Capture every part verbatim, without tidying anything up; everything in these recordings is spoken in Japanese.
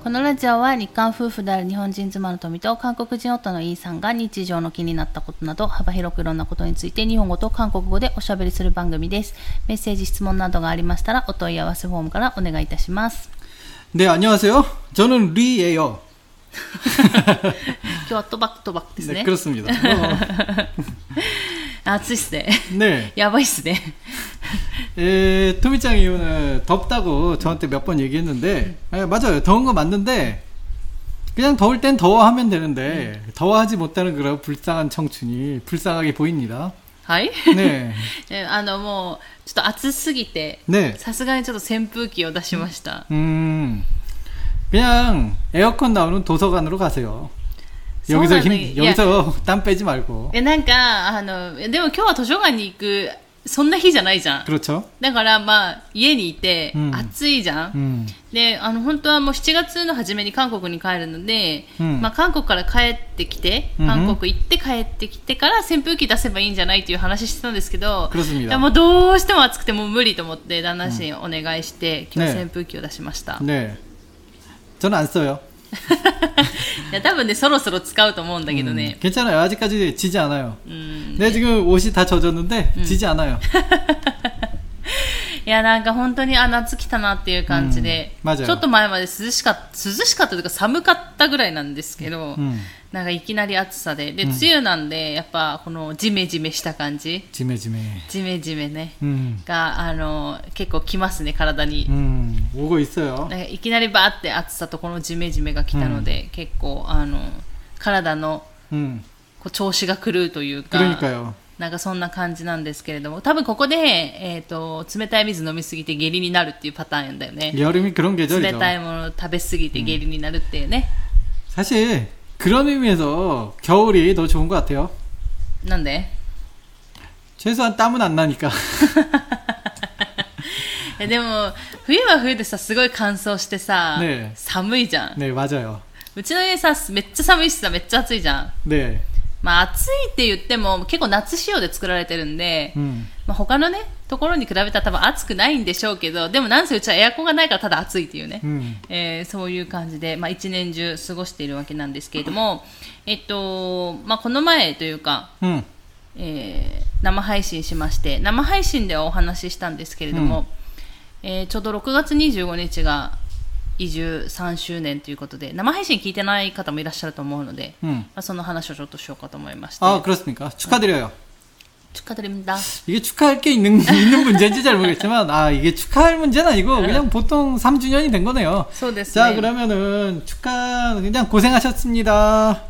このラジオは日韓夫婦である日本人妻の富と韓国人夫のイーさんが日常の気になったことなど幅広くいろんなことについて日本語と韓国語でおしゃべりする番組です。メッセージ質問などがありましたらお問い合わせフォームからお願いいたします。 네 안녕하세요. 저는 리예요. 今日はとばくとばくですね。 네, 그렇습니다. 暑いっすね。 네. やばいっすね。 에, 토미짱이 오늘 덥다고 저한테 몇 번 얘기했는데 에, 맞아요. 더운 거 맞는데 그냥 더울 땐 더워하면 되는데 음. 더워하지 못하는 그런 불쌍한 청춘이 불쌍하게 보입니다. はい。 네. あのもうちょっと暑すぎて、さすがにちょっと扇風機を出しました。 음. 그냥 에어컨 나오는 도서관으로 가세요. 여기서 힘, 여기서 땀 빼지 말고. え、なんかあのでも今日は図書館に行くそんな日じゃないじゃん。 그렇죠. だからまあ家にいて暑いじゃん。 음. で、あの本当はもうしちがつの初めに韓国に帰るので、 음. まあ韓国から帰ってきて、 韓国行って帰ってきてから扇風機出せばいいんじゃないっていう話してたんですけど、 그렇습니다. いやもうどうしても暑くてもう無理と思って旦那氏にお願いして、 今日扇風機を出しました。 네. 저는 안 써요. いや多分ねそろそろ使うと思うんだけどね。 음, 괜찮아요. 아직까지 지지 않아요. 음, 네, 지금 옷이 다 젖었는데 음. 지지 않아요. いやなんか本当にあ夏来たなっていう感じで、 うん、 ちょっと前まで涼しかった涼しかったというか寒かったぐらいなんですけど、うん、なんかいきなり暑さでで、うん、梅雨なんでやっぱこのジメジメした感じジメジメジメジメね、 うん、 があの結構きますね体に、 うん、오고 있어요。 なんかいきなりバーって暑さとこのジメジメが来たので、うん、結構あの体の、うん、こう調子が狂うというか。 그러니까요。 なんかそんな感じなんですけれども、多分ここで、えーと、冷たい水飲みすぎて下痢になるっていうパターンだよね。 여름이그런계절이죠。 冷たいもの食べすぎて下痢になるっていうね。 사실 그런 의미에서 겨울이 더 좋은 것 같아요。 なんで？ 최소한 땀은 안 나니까。 でも冬は冬でさすごい乾燥してさ、 ね、 寒いじゃん。 ね、맞아요。 うちの家さめっちゃ寒いしさめっちゃ暑いじゃん。 ね。 まあ暑いって言っても結構夏仕様で作られてるんで、うん、まあ、他のねところに比べたら多分暑くないんでしょうけど、でもなんせうちはエアコンがないからただ暑いっていうね、うん、えー、そういう感じで、まあ、一年中過ごしているわけなんですけれども、えっとまあ、この前というか、うん、えー、生配信しまして、生配信ではお話ししたんですけれども、うん、えー、ちょうどろくがつにじゅうごにちが移住さんしゅうねんということで生配信聞いてない方もいらっしゃると思うので、うん、まあ、その話をちょっとしようかと思いまして。 아, 그렇습니까? 축하드려요. 축하드립니다. 이게 축하할 게 있는, 있는 문제인지 잘 모르겠지만, 아, 이게 축하할 문제는 아니고, 그냥 보통 삼 주년이 된 거네요. 자, 그러면은, 축하, 그냥 고생하셨습니다.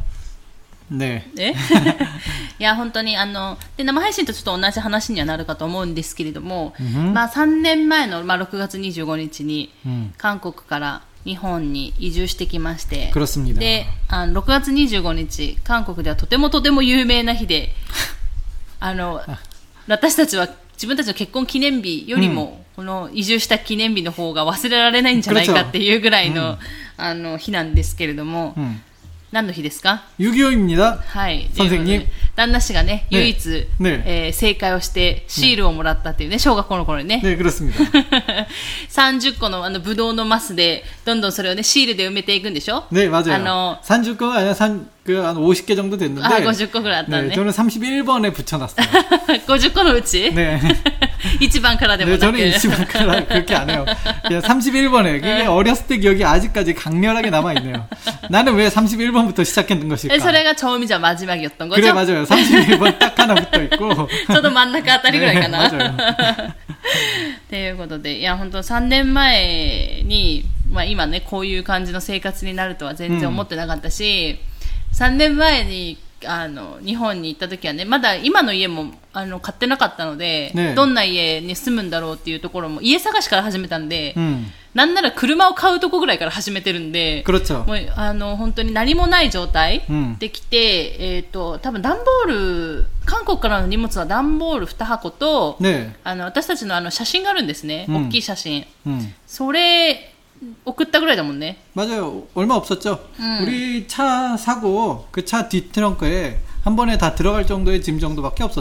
네. ねいや本当にあので生配信とちょっと同じ話にはなるかと思うんですけれども、まあ、さんねんまえの、まあ、ろくがつにじゅうごにちに韓国から日本に移住してきまして、であのろくがつにじゅうごにち韓国ではとてもとても有名な日であの私たちは自分たちの結婚記念日よりも、この移住した記念日の方が忘れられないんじゃないかっていうぐらいの、あの日なんですけれども、何の日ですか？ ユギオ입니다。 はい。 선생님。 旦那氏がね、唯一、ねえー、正解をしてシールをもらったっていうね、小学校の頃にね。 ね、그렇습니다。 さんじゅっこのあのブドウのマスでどんどんそれをねシールで埋めていくんでしょ？ 네、맞아요。あのさんじゅっこが아니라 그あの오십 개 정도 됐는데。 あ、ごじゅっこぐらいあったね。 ね、저는 삼십일 번에 붙여놨어요。 ごじゅっこのうち？ ね。 いちばんからでもなく。 네, 저는 일番から 그렇게 안 해요. 그냥 삼십일 번에. 그게 어렸을 때 기억이 아직까지 강렬하게 남아있네요. 나는 왜 삼십일 번부터 시작했는 것일까? それが처음이자 마지막이었던 거죠? 그래, 맞아요. 삼십일 번 딱 하나 붙어있고. 저도真ん中あたりぐらいかな。 네, 맞아요. ということで、いや、本当さんねんまえに、まあ今ね、こういう感じの生活になるとは全然思ってなかったし、うん、さんねんまえに、あの日本に行った時はねまだ今の家もあの買ってなかったので、ね、どんな家に住むんだろうっていうところも家探しから始めたんで、うん、なんなら車を買うとこぐらいから始めてるんで、もうあの本当に何もない状態で来て、うん、えーと多分段ボール韓国からの荷物は段ボールにはこ と、ね、あの私たちのあの写真があるんですね、うん、大きい写真、うん、それ送ったぐらいだもんね。 맞아요. 얼마 없었죠. 음. 우리 차 사고 그 차 뒷트렁크에 한 번에 다 들어갈 정도의 짐 정도밖에 없었죠.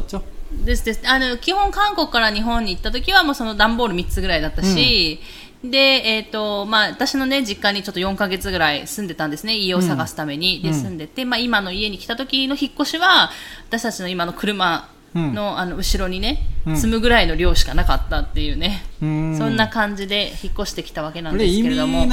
ですです。あの、基本韓国から日本に行った時はもうその段ボールみっつぐらいだったし、うん、で、えっと、まあ、私のね、実家にちょっとよんかげつぐらい住んでたんですね。家を探すために。うん、で、住んでて、まあ、今の家に来た時の引っ越しは、私たちの今の車、の、うん、あの後ろにね、積むぐらいの量しかなかったっていうね、うん、そんな感じで引っ越してきたわけなんですけれども。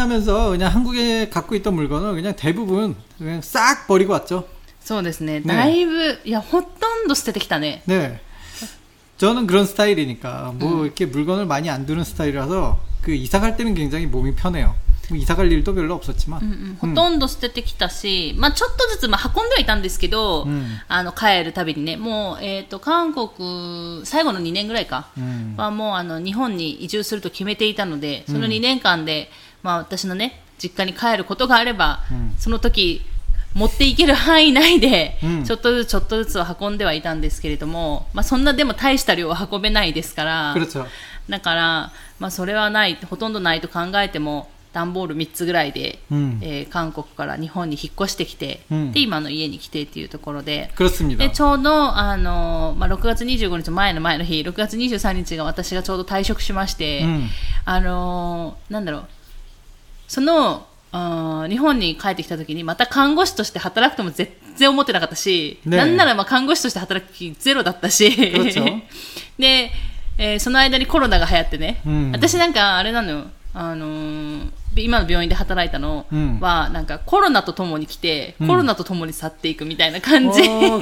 이민하면서그냥한국에갖고있던물건을그냥대부분그냥싹버리고왔죠。 そうですね。だいぶ、いや、ほとんど捨ててきたね。 ね。저는 그런 스타일이니까 뭐 음. 이렇게 물건을 많이 안 두는 스타일이라서 그 이사 갈 때는 굉장히 몸이 편해요. 이사 갈 일도 별로 없었지만. うんうん、ほとんど捨ててきたし、まあちょっとずつまあ運んではいたんですけど、うん、あの帰るたびにね、もうえっと韓国最後のにねんぐらいか、うん、はもうあの日本に移住すると決めていたので、そのにねんかんで、まあ私のね実家に帰ることがあれば、うん、その時持っていける範囲内で、うん、ちょっとずつちょっとずつを運んではいたんですけれども、まあそんなでも大した量は運べないですから、だからまあそれはないほとんどないと考えても。段ボールみっつぐらいで、うんえー、韓国から日本に引っ越してきて、うん、で今の家に来てっていうところで、でちょうど、あのまあ、ろくがつにじゅうごにち前の前の日ろくがつにじゅうさんにちが私がちょうど退職しまして、うん、あのー、なんだろうそのあ日本に帰ってきた時にまた看護師として働くとも全然思ってなかったし、ね、なんならまあ看護師として働く気ゼロだったしで、えー、その間にコロナが流行ってね、うん、私なんかあれなのよあのー、今の病院で働いたのは、うん、なんかコロナとともに来て、うん、コロナとともに去っていくみたいな感じの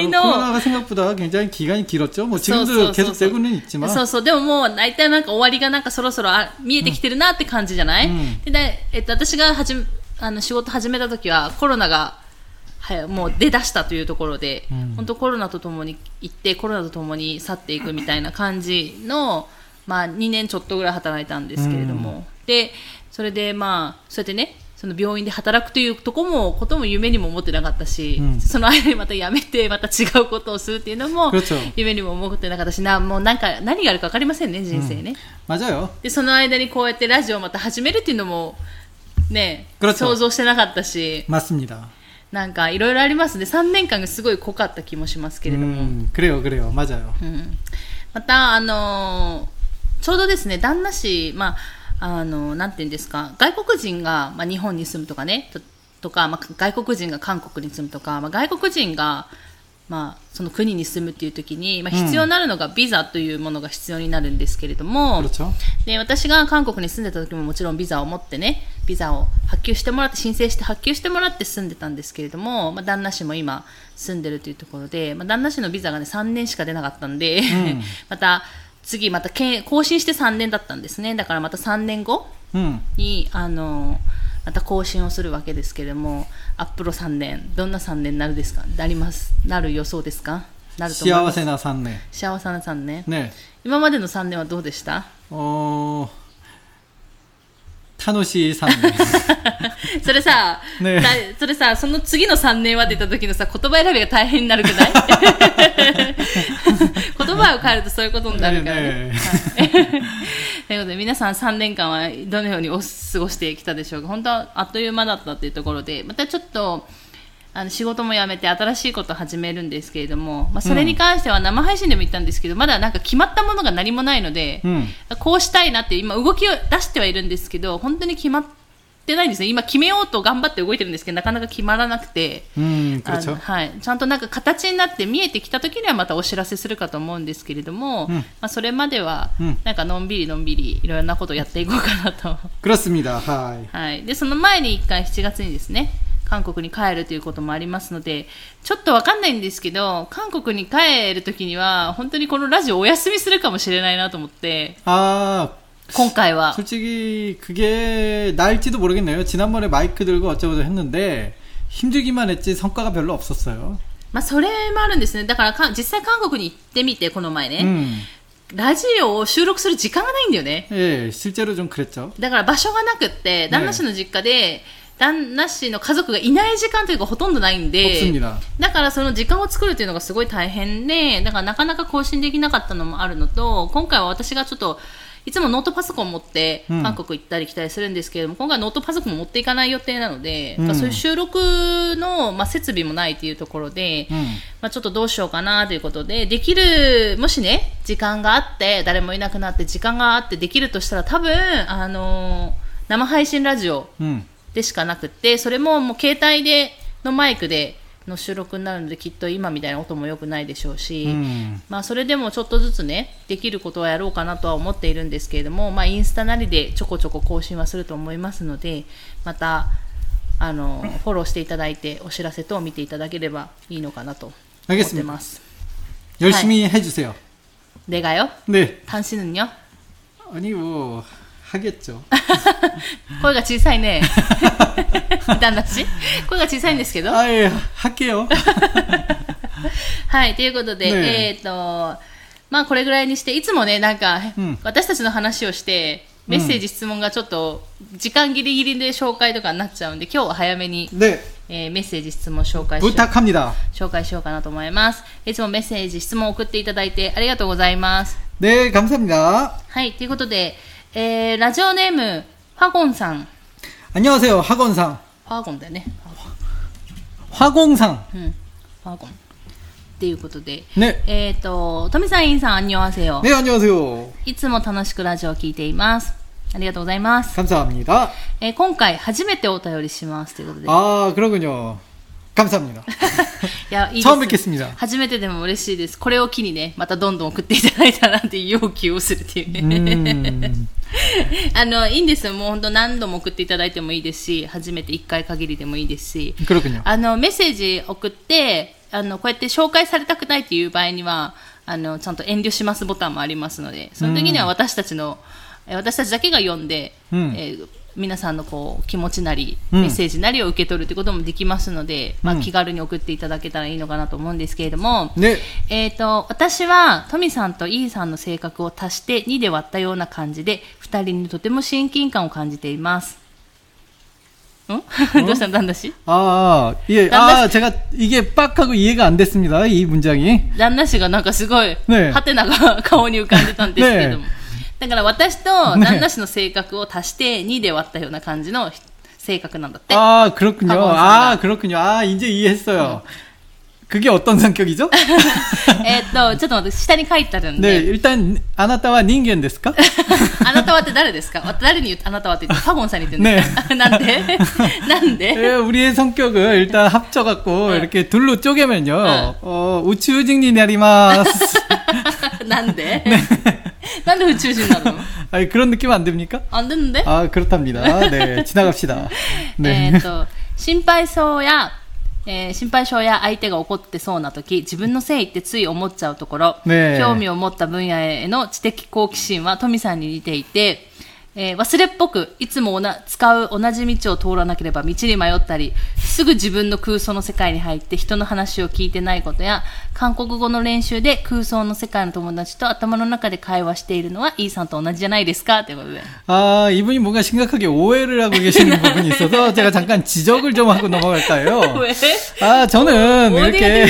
コロナが생각보다굉장히기간이길었죠뭐지금도계속되고는있지만 そうそうでももう大体なんか終わりがなんかそろそろあ見えてきてるなって感じじゃない、うん、でで、えっと、私がはじあの仕事始めた時はコロナがはいもう出だしたというところで、うん、本当コロナとともに行ってコロナとともに去っていくみたいな感じのまあ、にねんちょっとぐらい働いたんですけれども、うん、でそれでまあそうやってねその病院で働くというとこもことも夢にも思ってなかったし、うん、その間にまた辞めてまた違うことをするっていうのも夢にも思ってなかったしなもうなんか何があるか分かりませんね人生ね、 うん、맞아요。 でその間にこうやってラジオをまた始めるっていうのもね想像してなかったし 맞습니다。 なんかいろいろありますねさんねんかんがすごい濃かった気もしますけれども、うん、 그래요그래요맞아요、 うん、またあのーちょうどですね、旦那氏、まあ、あの、なんて言うんですか、外国人が、まあ、日本に住むとかね、と、とか、まあ、外国人が韓国に住むとか、まあ、外国人が、まあ、その国に住むっていう時に、まあ、必要になるのがビザというものが必要になるんですけれども、うん、で、私が韓国に住んでた時ももちろんビザを持ってね、ビザを発給してもらって、申請して発給してもらって住んでたんですけれども、まあ、旦那氏も今住んでるというところで、まあ、旦那氏のビザがね、さんねんしか出なかったんで、うん、また、次また更新してさんねんだったんですね。だからまたさんねんごに、うん、あのまた更新をするわけですけれども、アップロさんねんどんなさんねんになるですか？なりますなる予想ですか？なると思います。 幸せなさんねん。 幸せなさんねん。 ね。 今までのさんねんはどうでした？ おー。楽しいさんねんそれさ、ね、それさその次のさんねんは出た時のさ言葉選びが大変になるくない言葉を変えるとそういうことになるからね、ね、はい、ということで皆さんさんねんかんはどのようにお過ごしてきたでしょうか。本当はあっという間だったというところでまたちょっとあの仕事も辞めて新しいことを始めるんですけれども、まあ、それに関しては生配信でも言ったんですけど、うん、まだなんか決まったものが何もないので、うん、こうしたいなって今動きを出してはいるんですけど本当に決まってないんですね。今決めようと頑張って動いてるんですけどなかなか決まらなくて、 うんあのはい、ちゃんとなんか形になって見えてきた時にはまたお知らせするかと思うんですけれども、うんまあ、それまではなんかのんびりのんびりいろいろなことをやっていこうかなと。 그렇습니다。はい。 はい。でその前にいっかいしちがつにですね韓国に帰るということもありますのでちょっとわかんないんですけど韓国に帰るときには本当にこのラジオお休みするかもしれないなと思ってあ今回は 솔직히 그게 나을지도 모르겠네요. 지난번에 마이크 들고 어쩌고저쩌고 했는데 힘들기만 했지 성과가 별로 없었어요. まあそれもあるんですね。だからか実際韓国に行ってみてこの前ね、うん、ラジオを収録する時間がないんだよね。 ええ、실제로 좀 그랬죠. だから場所がなくって旦那氏の実家で旦那氏の家族がいない時間というかほとんどないんでだからその時間を作るというのがすごい大変でだからなかなか更新できなかったのもあるのと今回は私がちょっといつもノートパソコン持って韓国行ったり来たりするんですけれども、うん、今回ノートパソコン持っていかない予定なので、うん、そういう収録の、まあ、設備もないというところで、うん、まあ、ちょっとどうしようかなということで、できる、もしね、時間があって、誰もいなくなって時間があってできるとしたら、多分、あのー、生配信ラジオでしかなくて、それももう携帯でのマイクでの収録になるので、きっと今みたいな音も良くないでしょうし、うん、まあ、それでもちょっとずつねできることはやろうかなとは思っているんですけれども、まあ、インスタなりでちょこちょこ更新はすると思いますので、またあのフォローしていただいてお知らせ等を見ていただければいいのかなと思ってます。 열심히 해주세요. 내가요? 네. 당신은요? 아니 뭐 하겠죠. 声が小さいね。旦那氏声が小さいんですけど。 あ、いや、할게요. はい、ということで、ね、えっ、ー、と、まあこれぐらいにして、いつもね、なんか、うん、私たちの話をして、メッセージ、質問がちょっと、時間ギリギリで紹介とかになっちゃうんで、今日は早めに、ね、えー、メッセージ、質問紹介しよう。紹介しようかなと思います。いつもメッセージ、質問を送っていただいてありがとうございます。 ね、감사합니다。 はい、ということで、えー、ラジオネーム、ファゴンさん。 안녕하세요、ファゴンさん。 ファゴンだよね。 ファゴンさん。 うん、ファゴン。っていうことで。 ね。 えっ、ー、と、トミさん、インさん、안녕하세요。 ね、안녕하세요。 いつも楽しくラジオを聞いています。ありがとうございます。 감사합니다。 えー、今回、初めてお便りします。ということで。 あー、그러군요。감사합니다。 いや、いいです。 처음 뵙겠습니다。 初めてでも嬉しいです。これを機にね、またどんどん送っていただいたらっていう要求をするっていうね。あの、いいんですよ。もう本当何度も送っていただいてもいいですし、初めていっかい限りでもいいですし。あの、メッセージ送って、あの、こうやって紹介されたくないっていう場合には、あの、ちゃんと遠慮しますボタンもありますので、その時には私たちの、私たちだけが読んで、うん、えー皆さんのこう気持ちなりメッセージなりを受け取るということもできますので、うん、まあ、気軽に送っていただけたらいいのかなと思うんですけれども、ね、えーと、私はトミさんとイーさんの性格を足してにで割ったような感じでふたりにとても親近感を感じています。ん? どうしたの旦那氏? 아, 예, 아, 제가 이게 빡 하고 이해가 안 됐습니다. 이 문장이. 旦那氏がなんかすごい、ね、ハテナが顔に浮かんでたんですけども。ね、だから私と旦那氏の性格を足してにで割ったような感じの性格なんだって。 あ、그렇군요. 아, 그렇군요. 아, 이제 이해했어요. 그게 어떤 성격이죠? えっと、ちょっと待って、下に書いてあるんで。 네, 일단, あなたは人間ですか? あなたはって誰ですか? 誰に言って、あなたはって言って、ファゴンさんに言ってるんですか? なんでなんで? 네, 우리의 성격을 일단 합쳐갖고, 네. 이렇게 둘로 쪼개면요, 네. 어, 우주직이 내리마스. なんで? 네. なんで宇宙人なの? 아니, 그런 느낌 안 됩니까? 안 되는데? 아, 그렇답니다. 네, 지나갑시다. 네. えっと、心配そうや、えー、心配性や相手が怒ってそうな時、自分のせいってつい思っちゃうところ、ね、興味を持った分野への知的好奇心はトミさんに似ていて、えー、忘れっぽくいつもおな使う同じ道を通らなければ道に迷ったり、すぐ自分の空想の世界に入って人の話を聞いてないことや、韓国語の練習で空想の世界の友達と頭の中で会話しているのはイーさんと同じじゃないですかということで。 아, 이분이 뭔가 심각하게 오해를 하고 계시는 부분이 있어서 제가 잠깐 지적을 좀 하고 넘어갈까 해요. 왜? 아, 저는 이렇게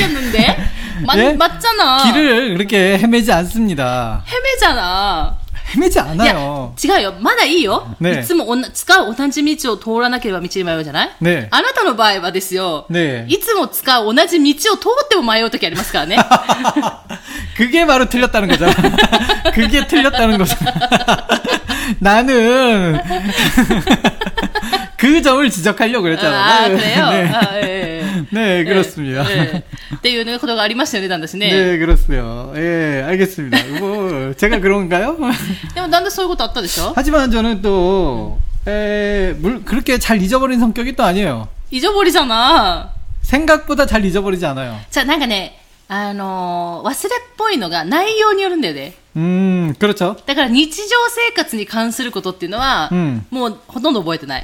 맞, 예? 맞잖아. 길을 그렇게 헤매지 않습니다. 헤매잖아. 헤매지 않아요. いや、違うよ。まだいいよ。ね、いつもおな使う同じ道を通らなければ道に迷うじゃない？ね。あなたの場合はですよ。ね。いつも使う同じ道を通っても迷うときありますからね。 그게 바로 틀렸다는 거잖아. 그게 틀렸다는 거잖아. 나는 그 점을 지적하려고 그랬잖아. 아, 그래요? 네. 아, 예. 네, 그렇습니다. 네. っていうね、ことがありましたよね、旦那氏ね。 네, 그렇습니다. 예, 알겠습니다. 뭐, 제가 그런가요? でも、旦那そういうことあったでしょ? 하지만 저는 또, 에, 물, 그렇게 잘 잊어버린 성격이 또 아니에요. 잊어버리잖아. 생각보다 잘 잊어버리지 않아요. 자, なんかね、あのー、忘れっぽいのが内容によるんだよね。 음, 그렇죠. だから日常生活に関することっていうのは、うん、もうほとんど覚えてない。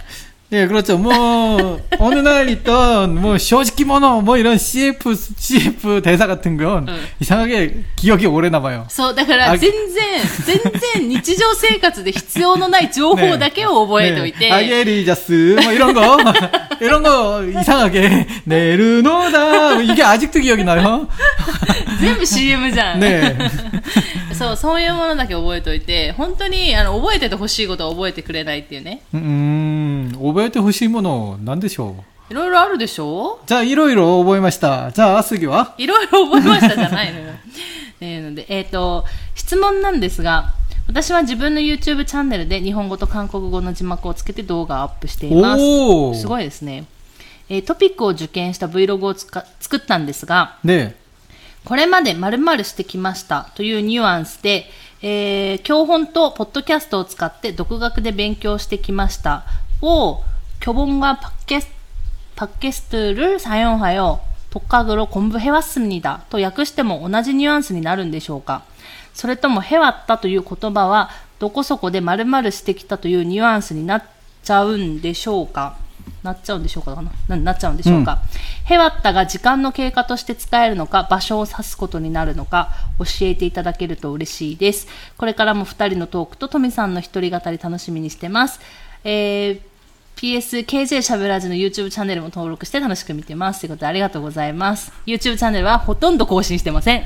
예, 그렇죠. 뭐, 어느 날 있던, 뭐, 쇼지키모노, 뭐, 이런 씨에프, 씨에프 대사 같은 건, 응. 이상하게 기억이 오래 남아요. そう、だから全然、全然日常生活で必要のない情報だけを覚えておいて。 네. 아게리자스, 뭐, 이런 거, 이런 거, 이상하게, 네르노다, 이게 아직도 기억이 나요. 全部 씨엠 じゃん。 네. そう、そういうものだけ覚えておいて、本当に、あの、覚えててほしいことは覚えてくれないっていうね。 음, 오베이테 호시모노, 난데쇼. いろいろあるでしょ 자, 이로이로覚えました. 자, 아스기와? いろいろ覚えましたじゃないのよ。ねので、えっと、質問なんですが、私は自分の YouTube チャンネルで日本語と韓国語の字幕をつけて動画をアップしています。 おー。 すごいですね。えートピックを受験した Vlog をつか作ったんですが、 네. これまで〇〇してきましたというニュアンスで、えー教本とポッドキャストを使って独学で勉強してきましたを교본과 팟캐스트, 팟캐스트를 사용하여 독학으로 공부해왔습니다と訳しても同じニュアンスになるんでしょうか。それともへわったという言葉はどこそこで〇〇してきたというニュアンスになっちゃうんでしょうか。なっちゃうんでしょうかかなななっちゃうんでしょうか、うん、へわったが時間の経過として使えるのか場所を指すことになるのか教えていただけると嬉しいです。これからもふたりのトークとトミさんの一人語り楽しみにしてます。えー、ピーエスケージェー しゃべらじの YouTube チャンネルも登録して楽しく見てますということでありがとうございます。 YouTube チャンネルはほとんど更新してません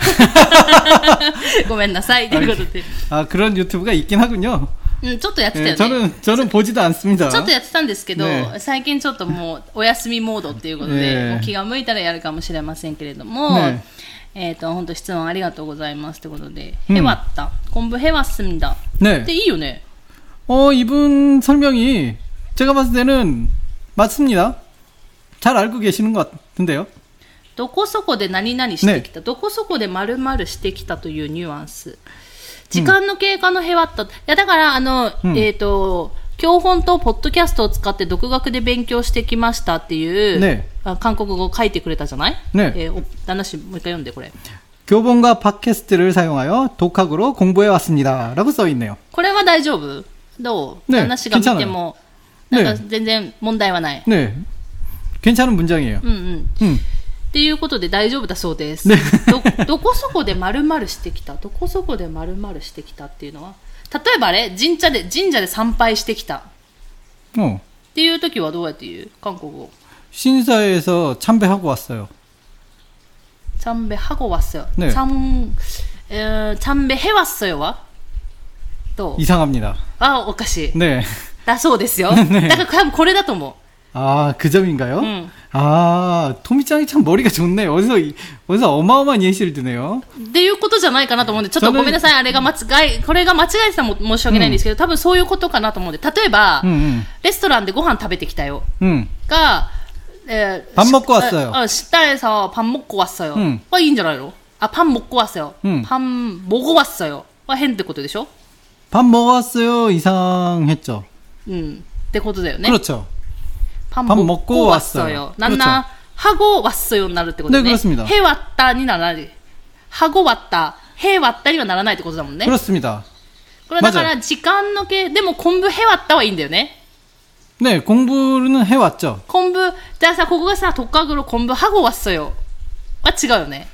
ごめんなさいということで 아, 그런 유튜브가 있긴 하군요. うん、ちょっとやってたよね。 네, 저는, 저는 보지도 않습니다. ちょっとやってたんですけど、 ね、 最近ちょっともうお休みモードっていうことで、 ね、 もう気が向いたらやるかもしれませんけれども、ね、えっと、本当質問ありがとうございますということで、 うん、 へわった。공부해왔습니다。ね。でいいよね。 어, 이분 설명이 제가 봤을 때는 맞습니다. 잘 알고 계시는 것 같은데요. どこそこで何々してきた、ね、どこそこで〇〇してきたというニュアンス。時間の経過のへわった。いや、だから、あの、うん、えっと、教本とポッドキャストを使って独学で勉強してきましたっていう、ね、韓国語を書いてくれたじゃない、ねえー、話、もう一回読んで、これ。 교본과 팟캐스트를 사용하여 독학으로 공부해왔습니다. 라고 써있네요. これは大丈夫？どう？ 네, 話が見ても、なんか全然問題はない。 네. 괜찮은 문장이에요. うんうん。うん。っていうことで大丈夫だそうです。ね、ど, どこそこで〇〇してきたどこそこで〇〇してきたっていうのは例えばあれ神社で神社で参拝してきたっていう時はどうやって言う韓国語 신사에서 참배하고 왔어요. 참배하고 왔어요. 네. 참, 어, 참배해왔어요와 또 이상합니다. 아, おかしい. 네. だそうですよ. 네. だから多分これだと思う. 아, 그 점인가요? 응. 아, 토미짱이 참 머리가 좋네. 어디서, 어디서 어마어마한 예시를 드네요. っていうことじゃないかなと思うんで、ちょっとごめんなさい。あれが間違い、これが間違えてたら申し訳ないんですけど、多分そういうことかなと思うんで、例えば、うんうん、レストランでご飯食べてきたよ。うん、が、えー、 밥 먹고 왔어요. 어, 식당에서 밥 먹고 왔어요. 응. 와, いいんじゃないの? 아, 밥 먹고 왔어요. 응. 밥 먹어 왔어요. 와,変ってことでしょ? 밥 먹었어요. 이상했죠. 음, ってことだよね. 그렇죠. 밥, 밥 먹고, 먹고 왔어요. 난나 그렇죠. 하고 왔어요. なるってことね. 네, 그렇습니다. 해 왔다にならない. 하고 왔다. 해 왔다にはならないってことだもんね. 그렇습니다. これだから時間のけでも공부 해 왔다はいいんだよね. 네, 공부는 해왔죠. 공부, 자, 사, ここがさ, 독학으로 공부하고 왔어요. 아, 違うよね.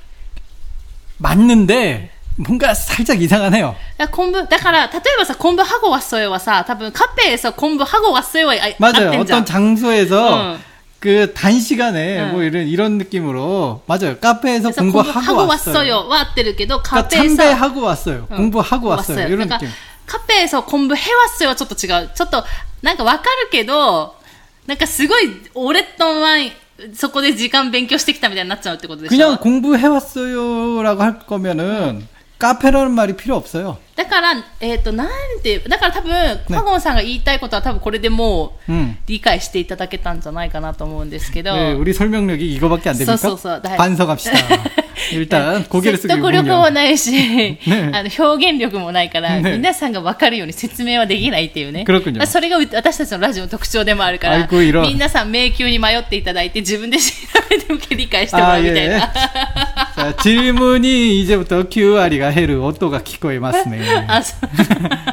맞는데, 뭔가 살짝 이상하네요. 야, 공부, だから、例えばさ, 공부하고 왔어요와 사, 多分 카페에서 공부하고 왔어요와 맞아요. 어떤 장소에서, 응. 그 단시간에 응. 뭐 이런 이런 느낌으로 맞아요. 카페에서 공부하고 왔어요. 와 合ってるけど, 그러니까 참배하고 왔어요. 응. 공부하고 왔어요. 왔어요. 이런 그러니까 느낌. 카페에서 공부해왔어요はちょっと違う。ちょっとなんかわかるけど、なんかすごい俺とはそこで時間勉強してきたみたいになっちゃうってことでしょ。 그냥 공부해왔어요라고 할 거면은 카페라는 말이 필요 없어요. だから、えっと、なんて、だから多分、カゴンさんが言いたいことは多分これでもう、理解していただけたんじゃないかなと思うんですけど。 네, 우리 설명력이 이거밖에 안 됩니까? そうそうそう。 반성합시다. 일단 고개를 숙이고 説得力もないし、ね、あの表現力もないから、ね、皆さんが分かるように説明はできないっていうね。 그렇군요. それが私たちのラジオの特徴でもあるから、皆さん迷宮に迷っていただいて自分で調べて理解してもらうみたいな。 자, 질문이 이제부터 큐알이가 해る音が聞こえますね. 아,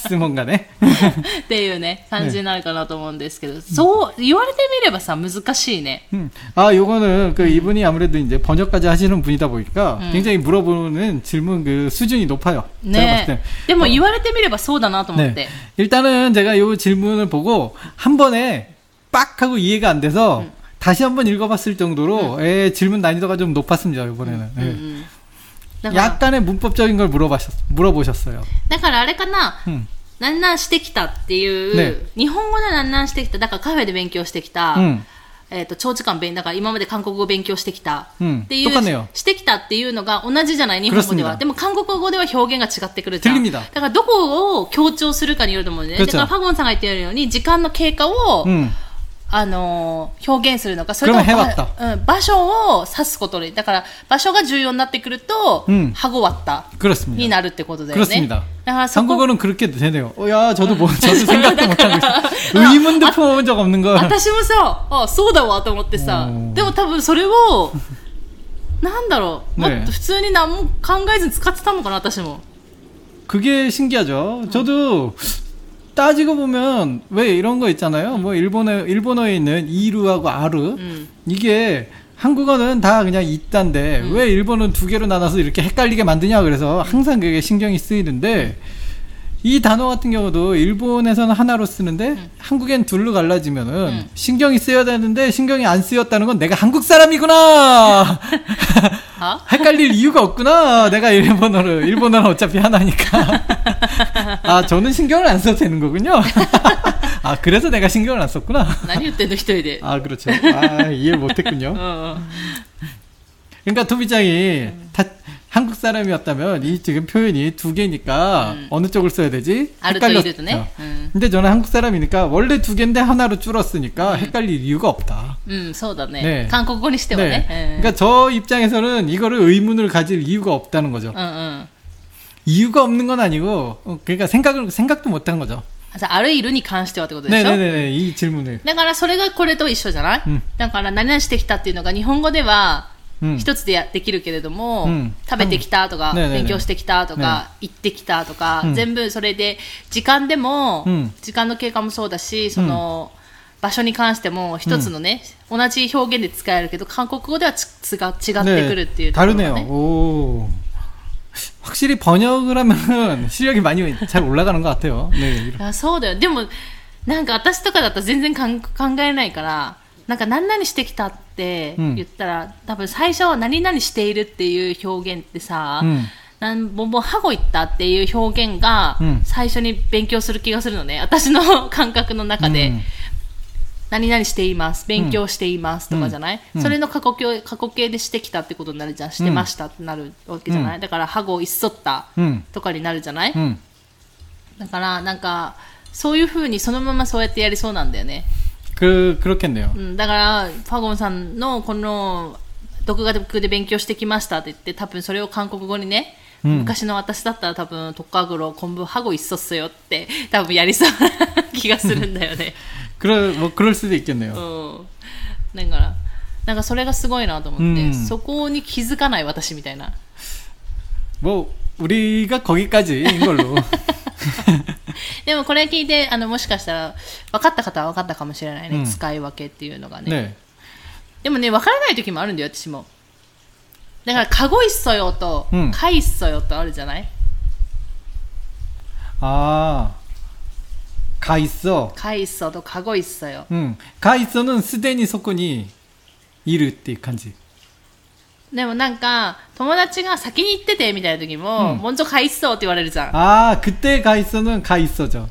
質問がね。 っていうね、感じになるかなと思うんですけど、そう言われてみればさ、難しいね。 음. 아, 요거는 그 이분이 아무래도 이제 번역까지 하시는 분이다 보니까 음. 굉장히 물어보는 질문 그 수준이 높아요. 제가 봤을 때. でも言われてみればそうだなと思って。 네. 일단은 제가 요 질문을 보고 한 번에 빡 하고 이해가 안 돼서 음. 다시 한번 읽어봤을 정도로 음. 에, 질문 난이도가 좀 높았습니다. 이번에는. 음, 네. 음, 음. 약간의 문법적인 걸 물어보셨, 물어보셨어요. だからあれかな、 음. なんなんしてきたっていう、 ね、 日本語でなんなんしてきた、だからカフェで勉強してきた、 うん、 えっと、長時間勉、だから今まで韓国語を勉強してきた、 うん、 っていう、してきたっていうのが同じじゃない、日本語では。でも韓国語では表現が違ってくるじゃん。だからどこを強調するかによると思うんだよね。だからファゴンさんが言ってるように、時間の経過を、うん、あのー、表現するのか、それとも、うん、場所を指すことで、だから場所が重要になってくると、うん、하고 왔다になるってことだよね。 그렇습니다. 한국어는 그렇게 되네요. 어, 야, 저도 뭐, 저도 생각도 못하고 있어. 의문도 품어본 적 없는 거. 私もさ、あ、そうだわと思ってさ、でも多分それを、なんだろう、ね、普通に何も考えずに使ってたのかな、私も。 그게 신기하죠. 저도, 따지고 보면 왜 이런 거 있잖아요. 뭐 일본어 일본어에 있는 이루하고 아르 음. 이게 한국어는 다 그냥 있단데 음. 왜 일본어는 두 개로 나눠서 이렇게 헷갈리게 만드냐 그래서 항상 그게 신경이 쓰이는데 이 단어 같은 경우도 일본에서는 하나로 쓰는데 음. 한국엔 둘로 갈라지면은 음. 신경이 쓰여야 되는데 신경이 안 쓰였다는 건 내가 한국 사람이구나. 어? 헷갈릴 이유가 없구나. 내가 일본어를 일본어는 어차피 하나니까. 아, 저는 신경을 안 써도 되는 거군요. 아, 그래서 내가 신경을 안 썼구나. 何言ってんの一人で. 아, 그렇죠. 아, 이해를 못했군요. 그러니까 토미짱이 다 한국 사람이었다면 이 지금 표현이 두 개니까 음. 어느 쪽을 써야 되지? 헷갈렸죠. 음. 근데 저는 한국 사람이니까 원래 두 개인데 하나로 줄었으니까 음. 헷갈릴 이유가 없다. 음, そうだね. 네. 한국어니してはね. 네. 그러니까 저 입장에서는 이거를 의문을 가질 이유가 없다는 거죠. 음, 음. 이유가 없는 건 아니고 그러니까 생각을 생각도 못 한 거죠. あるいるに関してはってことでしょ? 네네네. 이 질문을. だからそれがこれと一緒じゃない? 음. だから何々してきたっていうのが日本語では一つでやできるけれども、うん、食べてきたとか、うん、勉強してきたとか、ねね、行ってきたとか、うん、全部それで時間でも、うん、時間の経過もそうだし、その、うん、場所に関しても一つのね、うん、同じ表現で使えるけど韓国語ではつつが違ってくるっていうところがね。 다르네요. 오. 확실히 번역을 하면 실력이 많이 잘 올라가는 것 같아요. 네. あ、そうだよ。でもなんか私とかだったら全然かん考えないから。なんか何々してきたって言ったら、うん、多分最初は何々しているっていう表現ってさ、うん、なんももうハゴ行ったっていう表現が最初に勉強する気がするのね、私の感覚の中で、うん、何々しています、勉強していますとかじゃない、うん、それの過去形、過去形でしてきたってことになるじゃん、してましたってなるわけじゃない、うん、だからハゴいっそったとかになるじゃない、うん、だからなんかそういう風にそのままそうやってやりそうなんだよね。 그, 그렇겠네요. 음, だから、ファゴンさんのこの独学で勉強してきましたって言って、多分それを韓国語にね、うん、昔の私だったら多分トッカグロ昆布ハゴいっそっすよって多分やりそうな気がするんだよね。 그럴, 뭐, 그럴 수도 있겠네요. うん。だから、なんかそれがすごいなと思って、うん、そこに気づかない私みたいな。 뭐, 우리가 거기까지인 걸로. でもこれ聞いてあのもしかしたら分かった方は分かったかもしれないね、うん、使い分けっていうのがね。ね、でもね分からない時もあるんだよ私も。だからカゴいっそよと、うん、カイっそよとあるじゃない。ああ、カイっそ。カイっそとカゴいっそよ。うん。 カイっそ는すでにそこにいるっていう感じ。 でもなんか友達が先に行っててみたいな時も、うん、먼저 가 있어って言われるじゃん。 ああ、그때 가 있어는 가 있어죠.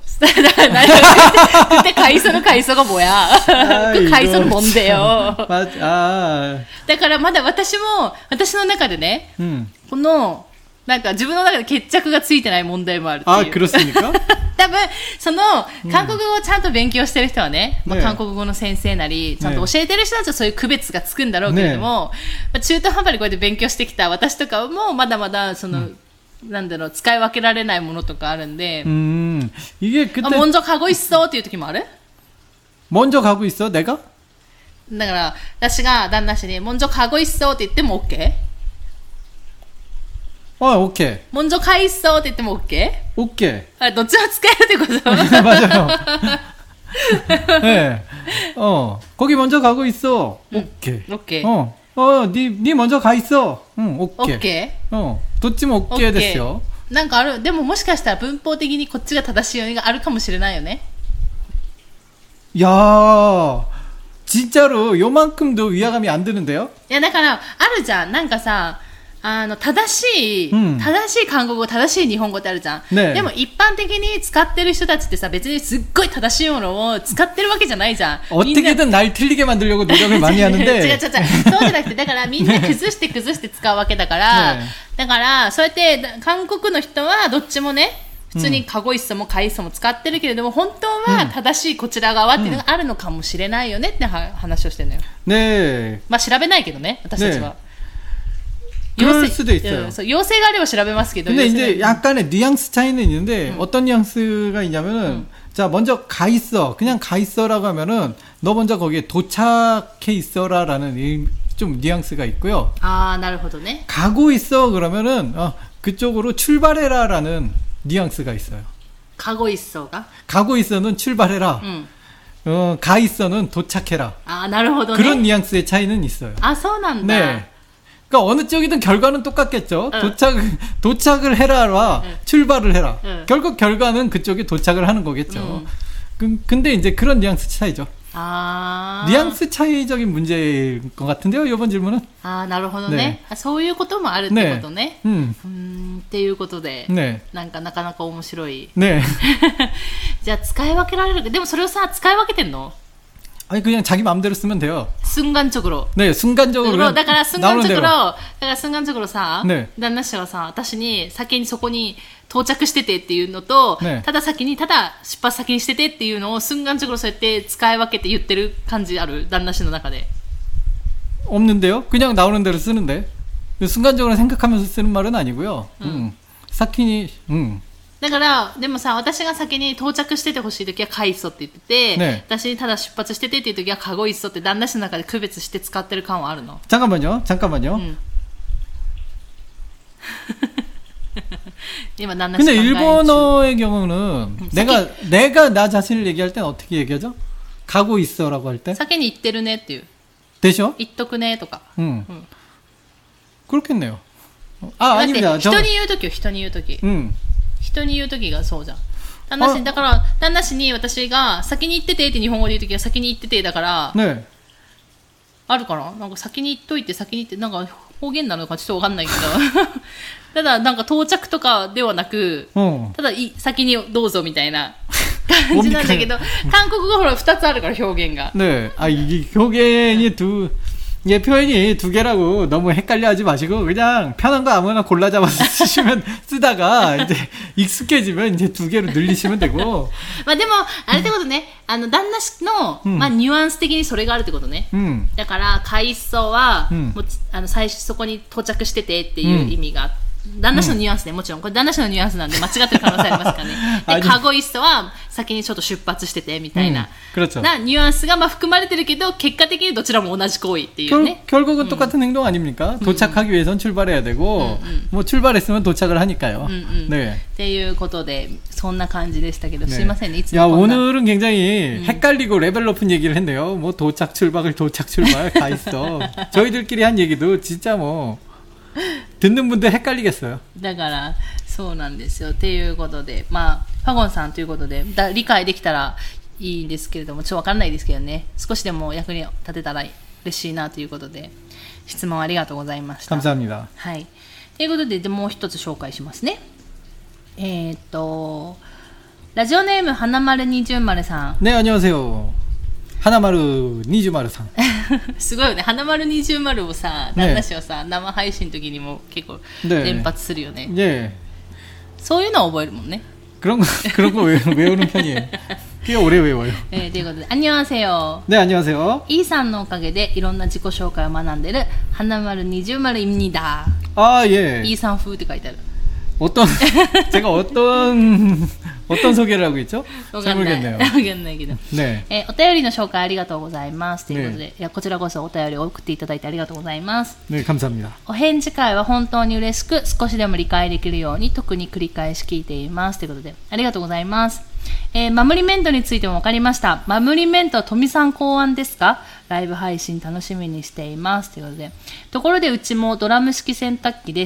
그때 가 있어는 가 있어가 뭐야? 그 가 있어는 뭔데요? 아. だからまだ私も私の中でね、うん、このなんか自分の中で決着がついてない問題もあるっていう。 あ、그렇습니까? 多分その韓国語をちゃんと勉強してる人はね、うん、まあ、韓国語の先生なりちゃんと教えてる人たちはそういう区別がつくんだろうけれども、ね、まあ、中途半端にこうやって勉強してきた私とかもまだまだその、うん、なんだろう、使い分けられないものとかあるんで、うん、이게 그때 먼저 가고 있어っていう時もある？ 먼저 가고 있어 내가? だから私が旦那氏に먼저 가고 있어って言っても OK？ 어, 오케이. 먼저 가 있어って言っても OK? 오케이. 아, どっちも使えるってこと 맞아요. 네. 어, 거기 먼저 가고 있어. 오케이. 오케이. 어, 어, 니, 니 먼저 가 있어. 응, 오케이. OK? 어,どっちも 오케이 ですよ。 なんかある、でももしかしたら文法的にこっちが正しいようにがあるかもしれないよね。 야, 진짜로 요만큼도 위화감이 안 드는데요? いやだからあるじゃん。なんかさ、あの正しい、 うん、 正しい韓国語、正しい日本語ってあるじゃん、 ね、 でも一般的に使ってる人たちってさ、別にすっごい正しいものを使ってるわけじゃないじゃん。 어떻게든 날 틀리게 만들려고 노력을 많이 하는데 違う違う違う、そうじゃなくて、だからみんな崩して崩して使うわけだから、ね、だからそうやって韓国の人はどっちもね、普通にカゴイッソもカイッソも使ってるけれども、本当は正しいこちら側っていうのがあるのかもしれないよねって話をしてるのよ。 ね、 まあ調べないけどね、私たちは。 그럴 수도 있어요. 요새가 아래ば調べますけど. 근데 이제 약간의 뉘앙스 차이는 있는데, 음. 어떤 뉘앙스가 있냐면은, 음. 자, 먼저 가 있어. 그냥 가 있어라고 하면은, 너 먼저 거기에 도착해 있어라라는 좀 뉘앙스가 있고요. 아, なるほどね. 가고 있어 그러면은, 어, 그쪽으로 출발해라라는 뉘앙스가 있어요. 가고 있어가? 가고 있어는 출발해라. 음. 어, 가 있어는 도착해라. 아, なるほどね. 그런 뉘앙스의 차이는 있어요. 아, そうなんだ. 네. 그러니까 어느 쪽이든 결과는 똑같겠죠. 응. 도착, 도착을 해라와 응. 출발을 해라. 응. 결국 결과는 그쪽이 도착을 하는 거겠죠. 응. 그, 근데 이제 그런 뉘앙스 차이죠. 아. 뉘앙스 차이적인 문제일 것 같은데요, 이번 질문은. 아, なるほどね. 아, そういうこともあるってことね. 음. 음, っていうことで. 네. なんかなかなか面白い. 네. じゃあ使い分けられる。でもそれをさ、使い分けてんの? 아니 그냥 자기 마음대로 쓰면 돼요. 순간적으로. 네, 순간적으로. だから순간적으로、だから순간적으로さ、ね、旦那氏はさ、私に先にそこに到着しててっていうのと、ね、ただ先にただ出発先にしててっていうのを순간적으로そうやって使い分けて言ってる感じある？旦那氏の中で。 없는데요? 그냥 나오는 대로 쓰는데. 순간적으로 생각하면서 쓰는 말은 아니고요. 음. 음. 사키니, 음. だからでもさ、私が先に到着しててほしいときはカイソって言ってて、ね、私にただ出発しててっていうときはカゴイソって旦那氏の中で区別して使ってる感はあるの？ 잠깐만요, 잠깐만요. 음. 今旦那氏 근데 일본어의 경우는 음, 내가 사키... 내가 나 자신을 얘기할 땐 어떻게 얘기하죠? 가고 있어라고 할 때? 先に行ってるねっていう。 되죠? 行っとくねとか。 음. 음. 그렇겠네요. 아, 아닙니다. 人に言うときよ、人に言うとき。 음. 人に言うときがそうじゃん。旦那氏だから旦那氏に私が先に行っててって日本語で言うときは先に行っててだから、ね、あるかな。なんか先に行っといて先に行ってなんか方言なのかちょっとわかんないけどただなんか到着とかではなく、うん、ただい先にどうぞみたいな感じなんだけど韓国語ほらふたつあるから表現が。 ね、あ、이表現두 이게 표현이 두 개라고 너무 헷갈려 하지 마시고 그냥 편한 거 아무나 골라 잡아서 쓰시면 쓰다가 이제 익숙해지면 이제 두 개로 늘리시면 되고. まあでもあれってことね、あの旦那氏の、まあニュアンス的にそれがあるってことね。うん、だから海藻は、うん、もうあの最初そこに到着しててっていう意味があって。旦那氏のニュアンスね、もちろんこれ旦那氏のニュアンスなんで間違ってる可能性ありますからね。で、カゴイストは先にちょっと出発しててみたいな、うん、なニュアンスがまあ含まれてるけど結果的にどちらも同じ行為っていうね。 결, 결국은 똑같은 행동 아닙니까? 도착하기 위해선 출발해야 되고, 뭐 출발했으면 도착을 하니까요. 네. っていうことでそんな感じでしたけど、 すいませんね。いつも 야, 오늘은 굉장히 헷갈리고 레벨 높은 얘기를 했네요. 뭐 도착 출발을 도착 출발 가 있어. 저희들끼리 한 얘기도 진짜 뭐 듣는 분들 헷갈리겠어요. だからそうなんですよ。っていうことで、まあファゴンさんということでだ理解できたらいいんですけれども、ちょっとわかんないですけどね。少しでも役に立てたら嬉しいなということで、質問ありがとうございました。 감사합니다。 はい。ということで、でもう一つ紹介しますね。えー、っとラジオネーム花丸二重丸さん。 ね、안녕하세요。花丸二重丸さん。 すごいよね。花丸二重丸をさ、旦那氏はさ、生配信の時にも結構連発するよね。ね。そういうのを覚えるもんね。 그런 거 그런 거 외우는 편이에요. 꽤 오래 외워요. 네, ということで、안녕하세요。 ね、안녕하세요。 イーさんのおかげでいろんな自己紹介を学んでる花丸二重丸입니다。 あ、いえ。 イーさん風って書いてある。 어떤 제가 어떤 어떤 소개를 하고 있죠? わかんない。 모르겠네요. わかんないけど。 네. えーお便りの紹介ありがとうございます。ということで、いやこちらこそお便りを送っていただいてありがとうございます。 네, 감사합니다. お返事会は本当に嬉しく、少しでも理解できるように特に繰り返し聞いています。ということで、ありがとうございます。えー、マムリメントについても分かりました。マムリメントは富さん考案ですか？ライブ配信楽しみにしています。ということで、ところでうちもドラム式洗濯機です。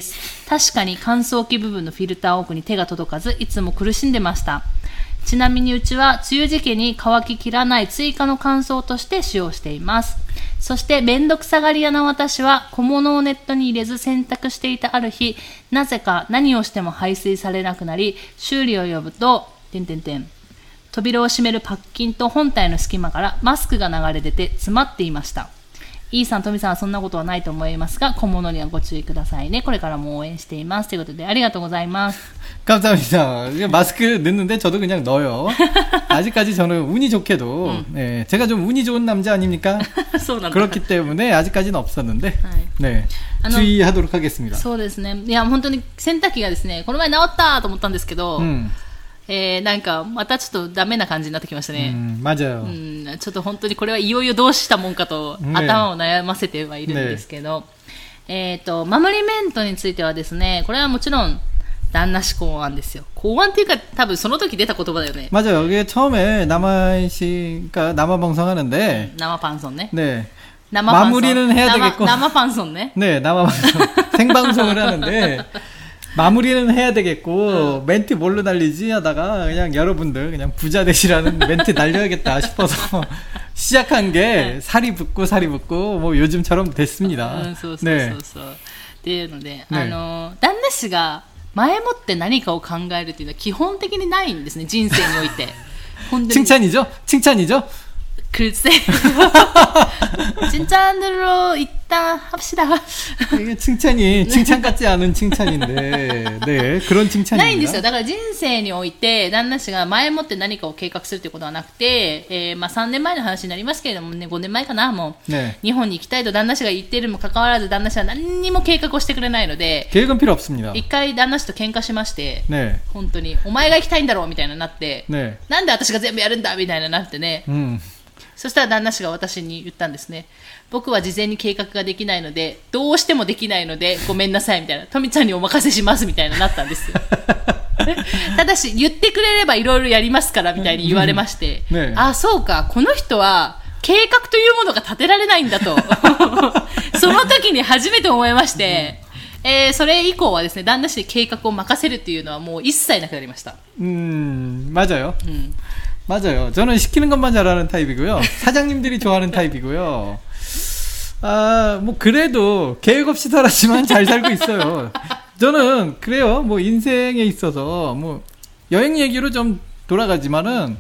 確かに乾燥機部分のフィルター奥に手が届かず、いつも苦しんでました。ちなみにうちは梅雨時期に乾ききらない追加の乾燥として使用しています。そしてめんどくさがり屋な私は小物をネットに入れず洗濯していたある日、なぜか何をしても排水されなくなり、修理を呼ぶと、てんてんてん。扉を閉めるパッキンと本体の隙間からマスクが流れ出て詰まっていました。イーさん、トミさんはそんなことはないと思いますが、小物にはご注意くださいね。これからも応援しています。ということで、ありがとうございます。 감사합니다. 마스크 넣는데 저도 그냥 넣어요. 아직까지 저는 운이 좋게도 음. 네, 제가 좀 운이 좋은 남자 아닙니까? 그렇기 때문에 아직까지는 없었는데 네, 주의하도록 하겠습니다. そうですね。いや、本当に洗濯機がですね、この前治ったと思ったんですけど、 음. えー、なんかまたちょっとダメな感じになってきましたね。 음, 맞아요. うん、ちょっと本当にこれはいよいよどうしたもんかと頭を悩ませてはいるんですけど、ね、えっとマムリメントについてはですね、これはもちろん旦那氏考案ですよ。考案っていうか多分その時出た言葉だよね。 맞아요. 이게 처음에 남아씨가 남아 방송하는데 남아 방송ね. 네. 남아 마무리는 방송. 해야 남아, 되겠고. 남아 방송ね. 네, 남아 방송. 생방송을 하는데 마무리는 해야 되겠고 응. 멘트 뭘로 날리지 하다가 그냥 여러분들 그냥 부자 되시라는 멘트 날려야겠다 싶어서 시작한 게 살이 붙고 살이 붙고 뭐 요즘처럼 됐습니다. 응, そうそうそうそう。っていうので、あの旦那氏が前もって何かを考えるっていうのは基本的にないんですね、人生において。 칭찬이죠? 칭찬이죠? 글쎄. 칭찬으로 일단 합시다. 이게 칭찬이 칭찬 같지 않은 칭찬인데, 네, 그런 칭찬입니다. ないんですよ。だから人生において旦那氏が前もって何かを計画するということはなくて、えー、まあさんねんまえの話になりますけれどもね、ごねんまえかな、もう、ね、日本に行きたいと旦那氏が言っているにもかかわらず旦那氏は何にも計画をしてくれないので、 계획은 필요 없습니다. 一回旦那氏と喧嘩しまして、 네. 本当にお前が行きたいんだろうみたいななって、 네. なんで私が全部やるんだみたいななってね、 음. そしたら旦那氏が私に言ったんですね。僕は事前に計画ができないので、どうしてもできないのでごめんなさいみたいな、トミちゃんにお任せしますみたいななったんですよ。ただし言ってくれればいろいろやりますからみたいに言われまして、ね、あ、そうか、この人は計画というものが立てられないんだとその時に初めて思いまして、えー、それ以降はですね、旦那氏に計画を任せるっていうのはもう一切なくなりました。 음, 맞아요. 음. 맞아요. 저는 시키는 것만 잘하는 타입이고요. 사장님들이 좋아하는 타입이고요. 아, 뭐 그래도 계획 없이 살았지만 잘 살고 있어요. 저는 그래요. 뭐 인생에 있어서 뭐 여행 얘기로 좀 돌아가지만은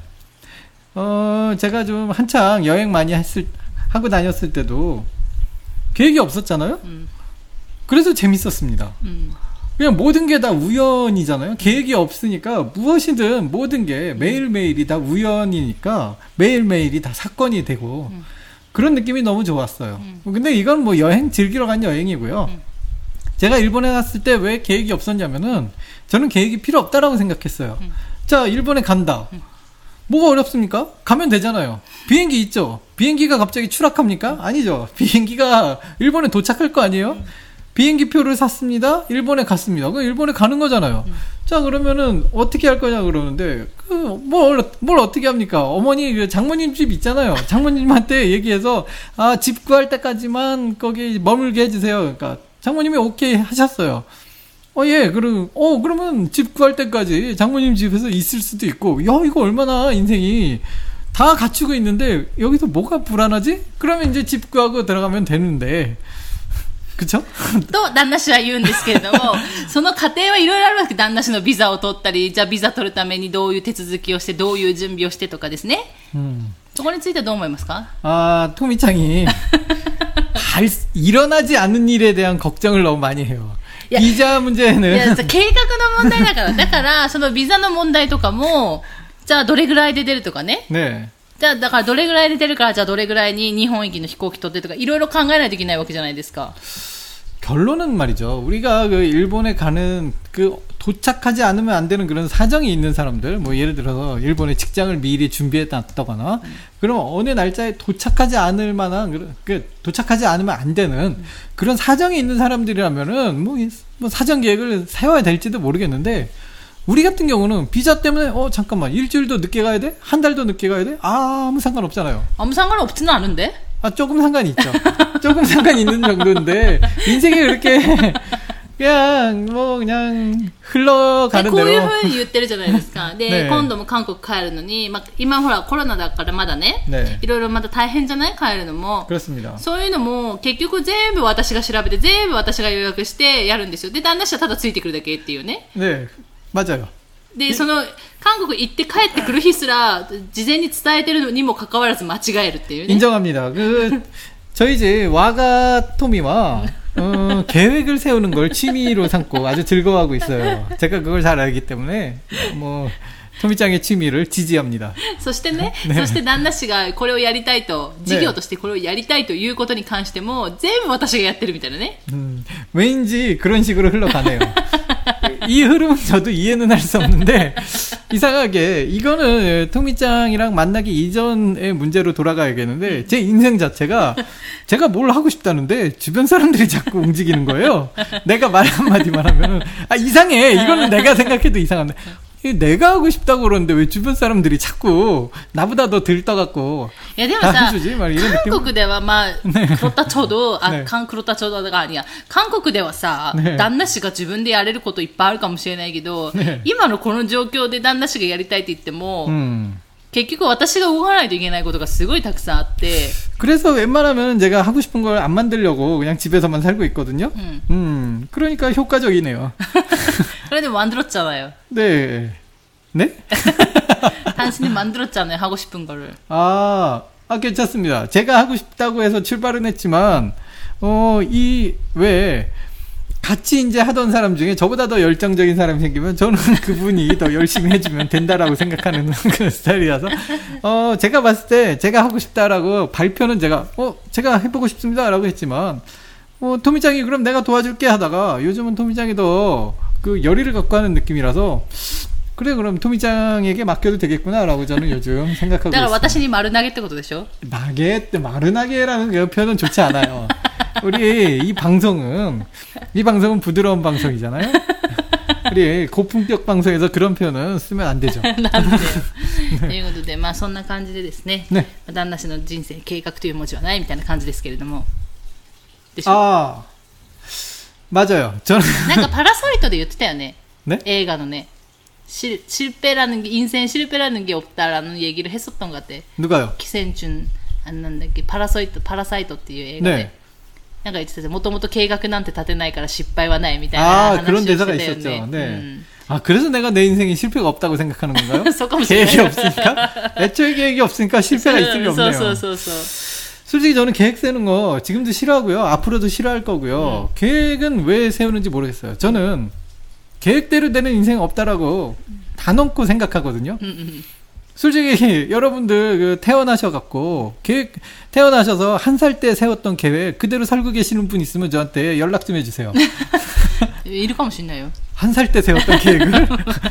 어, 제가 좀 한창 여행 많이 했을 하고 다녔을 때도 계획이 없었잖아요. 음. 그래서 재밌었습니다. 음. 그냥 모든 게 다 우연이잖아요. 계획이 없으니까 무엇이든 모든 게 매일매일이 다 우연이니까 매일매일이 다 사건이 되고 음. 그런 느낌이 너무 좋았어요. 음. 근데 이건 뭐 여행 즐기러 간 여행이고요. 음. 제가 일본에 갔을 때 왜 계획이 없었냐면은 저는 계획이 필요 없다라고 생각했어요. 음. 자, 일본에 간다. 음. 뭐가 어렵습니까? 가면 되잖아요. 비행기 있죠? 비행기가 갑자기 추락합니까? 아니죠. 비행기가 일본에 도착할 거 아니에요? 음. 비행기 표를 샀습니다. 일본에 갔습니다. 그럼 일본에 가는 거잖아요. 음. 자, 그러면은 어떻게 할 거냐 그러는데 그 뭘 뭘 어떻게 합니까? 어머니 장모님 집 있잖아요. 장모님한테 얘기해서 아, 집 구할 때까지만 거기 머물게 해주세요. 그러니까 장모님이 오케이 하셨어요. 어, 예, 그럼 어 그러면 집 구할 때까지 장모님 집에서 있을 수도 있고, 야, 이거 얼마나 인생이 다 갖추고 있는데 여기서 뭐가 불안하지? 그러면 이제 집 구하고 들어가면 되는데. 그쵸? と旦那氏は言うんですけれども、その過程はいろいろあるわけ。旦那氏のビザを取ったり、じゃあビザ取るためにどういう手続きをして、どういう準備をしてとかですね。うん、そこについてはどう思いますか? 아, 토미짱이 할, 일어나지 않는 일에 대한 걱정을 너무 많이 해요. 비자 문제는. いや、計画の問題だから。だから、そのビザの問題とかも、じゃあどれぐらいで出るとかね。 ね。 じゃあだからどれぐらいで出るから、じゃあどれぐらいに日本行きの飛行機取ってとかいろいろ考えないといけないわけじゃないですか。 결론은 말이죠. 우리가 그 일본에 가는 그 도착하지 않으면 안 되는 그런 사정이 있는 사람들, 뭐 예를 들어서 일본에 직장을 미리 준비해 놨다거나, 음. 그럼 어느 날짜에 도착하지 않을 만한, 그 도착하지 않으면 안 되는 음. 그런 사정이 있는 사람들이라면은 뭐, 뭐 사정 계획을 세워야 될지도 모르겠는데, 우리 같은 경우는 비자 때문에 어 잠깐만 일주일도 늦게 가야 돼? 한 달도 늦게 가야 돼? 아, 아무 상관없잖아요. 아무 상관없지는 않은데? 아, 조금 상관이 있죠. 조금 상관이 있는 정도인데 인생이 그렇게 그냥 뭐 그냥 흘러가는 대로. こういう風に言ってるじゃないですか。で、ね、今度も韓国帰るのに、まあ、今ほらコロナだからまだね、ね、いろいろまだ大変じゃない帰るのも。 그렇습니다。 そういうのも結局全部私が調べて全部私が予約してやるんですよ。で、旦那氏はただついてくるだけっていうね。 ね、맞아요。 で、その韓国行って帰ってくる日すら事前に伝えてるのにもかかわらず間違えるっていうね。 인정합니다. 그 저희 집 와가 토미와 어, 계획을 세우는 걸 취미로 삼고 아주 즐거워하고 있어요. 제가 그걸 잘 알기 때문에 뭐 토미짱의 취미를 지지합니다. そしてね、ね、そして旦那氏がこれをやりたいと、事業としてこれをやりたいということに関しても全部私がやってるみたいなね。 음, 왠지 그런 식으로 흘러가네요. 이 흐름은 저도 이해는 할 수 없는데 이상하게 이거는 토미짱이랑 만나기 이전의 문제로 돌아가야겠는데 제 인생 자체가 제가 뭘 하고 싶다는데 주변 사람들이 자꾸 움직이는 거예요. 내가 말 한마디만 하면은 아 이상해. 이거는 내가 생각해도 이상한데 내가 하고 싶다고 그러는데 왜 주변 사람들이 자꾸 나보다 더 들떠갖고 다 해주지? 막 이런 느낌. 韓国ではまあ、黒田ちょうど、あ、韓黒田ちょうどがありや。韓国ではさ、旦那氏が自分でやれることいっぱいあるかもしれないけど、今のこの状況で旦那氏がやりたいって言っても、結局私が動かないといけないことがすごいたくさんあって。 그래서 웬만하면 제가 하고 싶은 걸 안 만들려고 그냥 집에서만 살고 있거든요. 음, 음 그러니까 효과적이네요. 그런데 만들었잖아요. 네. 네? 당신이 만들었잖아요. 하고 싶은 거를. 아, 아 괜찮습니다. 제가 하고 싶다고 해서 출발은 했지만 어, 이 왜 같이 이제 하던 사람 중에 저보다 더 열정적인 사람이 생기면 저는 그분이 더 열심히 해주면 된다라고 생각하는 그런 스타일이라서 어 제가 봤을 때 제가 하고 싶다라고 발표는 제가 어 제가 해보고 싶습니다라고 했지만 어 토미짱이 그럼 내가 도와줄게 하다가 요즘은 토미짱이 더 그 열의를 갖고 하는 느낌이라서 그래 그럼 토미짱에게 맡겨도 되겠구나라고 저는 요즘 생각하고 있습니다. だから私に丸投げってことでしょ? 나게 마르나게라는 그 표현은 좋지 않아요. 우리 이 방송은 이 방송은 부드러운 방송이잖아요. 우리 고품격 방송에서 그런 표현은 쓰면 안 되죠. なんでということでまあそんな感じでですね。ね。旦那氏の人生計画という文字はないみたいな感じですけれども。でしょ? 아 맞아요. 저는 なんかパラサイトで言ってたよね. 네? 映画のね. 실, 실패라는 게 인생 실패라는 게 없다라는 얘기를 했었던 것 같아. 누가요? 기생충 안 난다っけ 파라사이트 파라사이트 っていう映画で 네. なんか言ってたもともと計画なんて立てないから失敗はないみたいな話をしてたよね. 아, 그런 대사가 있었죠. 네. 음. 아, 그래서 내가 내 인생에 실패가 없다고 생각하는 건가요? 계획이 없으니까? 애초에 계획이 없으니까 실패가 있을 리 없네요. そうそうそうそう 솔직히 저는 계획 세우는 거 지금도 싫어하고요. 앞으로도 싫어할 거고요. 음. 계획은 왜 세우는지 모르겠어요. 저는 계획대로 되는 인생 없다라고 다 넘고 생각하거든요. 음, 음. 솔직히 여러분들 그 태어나셔갖고 계획 태어나셔서 한 살 때 세웠던 계획 그대로 살고 계시는 분 있으면 저한테 연락 좀 해주세요. いるかもしれないよ. 한 살 때 세웠던 계획을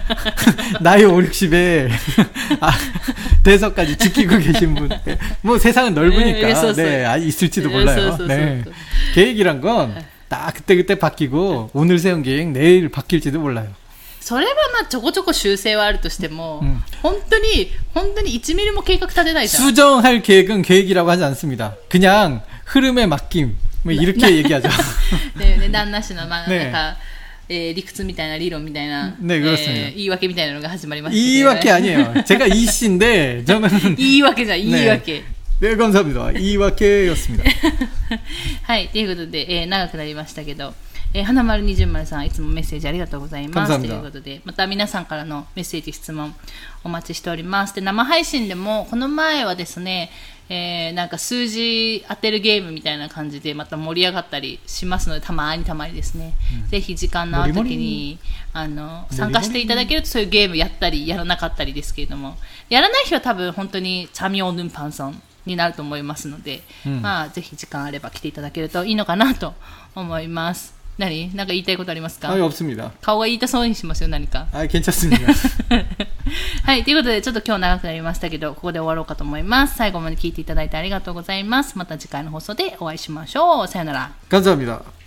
나이 오륙십에 아, 대서까지 지키고 계신 분. 뭐 세상은 넓으니까 네, 아, 있을지도 몰라요. 네. 계획이란 건 딱 그때그때 바뀌고 오늘 세운 계획 내일 바뀔지도 몰라요. それはまあちょこちょこ修正はあるとしても、うん、本当に本当にいちミリも計画立てないじゃん. 수정할 계획은 계획이라고 하지 않습니다. 그냥 흐름에 맡김. 뭐 이렇게 얘기하죠. 네, 네, 旦那氏のまあなんか 예, 理屈みたいな理論みたいな 네, 그렇습니다. 예, 言い訳みたいなのが始まりました. 言い訳 아니에요. 제가 이 씨인데 저는 言い訳じゃん, 言い訳. 네, 감사합니다. 이와케였습니다. はい、ということで、えー、長くなりましたけど、えー、花丸二十丸さんいつもメッセージありがとうございますということで、また皆さんからのメッセージ質問お待ちしております。で、生配信でもこの前はですね、えー、なんか数字当てるゲームみたいな感じでまた盛り上がったりしますので、たまにたまにですね、うん、ぜひ時間のある時にあの参加していただけるとそういうゲームやったりやらなかったりですけれども、やらない日は多分本当にチャミオヌンパンさんになると思いますので、 うん、 まあぜひ時間あれば来ていただけるといいのかなと思います。何なんか言いたいことありますか？ はい、없습니다。 顔が言いたそうにしますよ、何か。 はい、괜찮습니다。 はい、ということでちょっと今日長くなりましたけど、ここで終わろうかと思います。最後まで聞いていただいてありがとうございます。また次回の放送でお会いしましょう。さよなら。 감사합니다。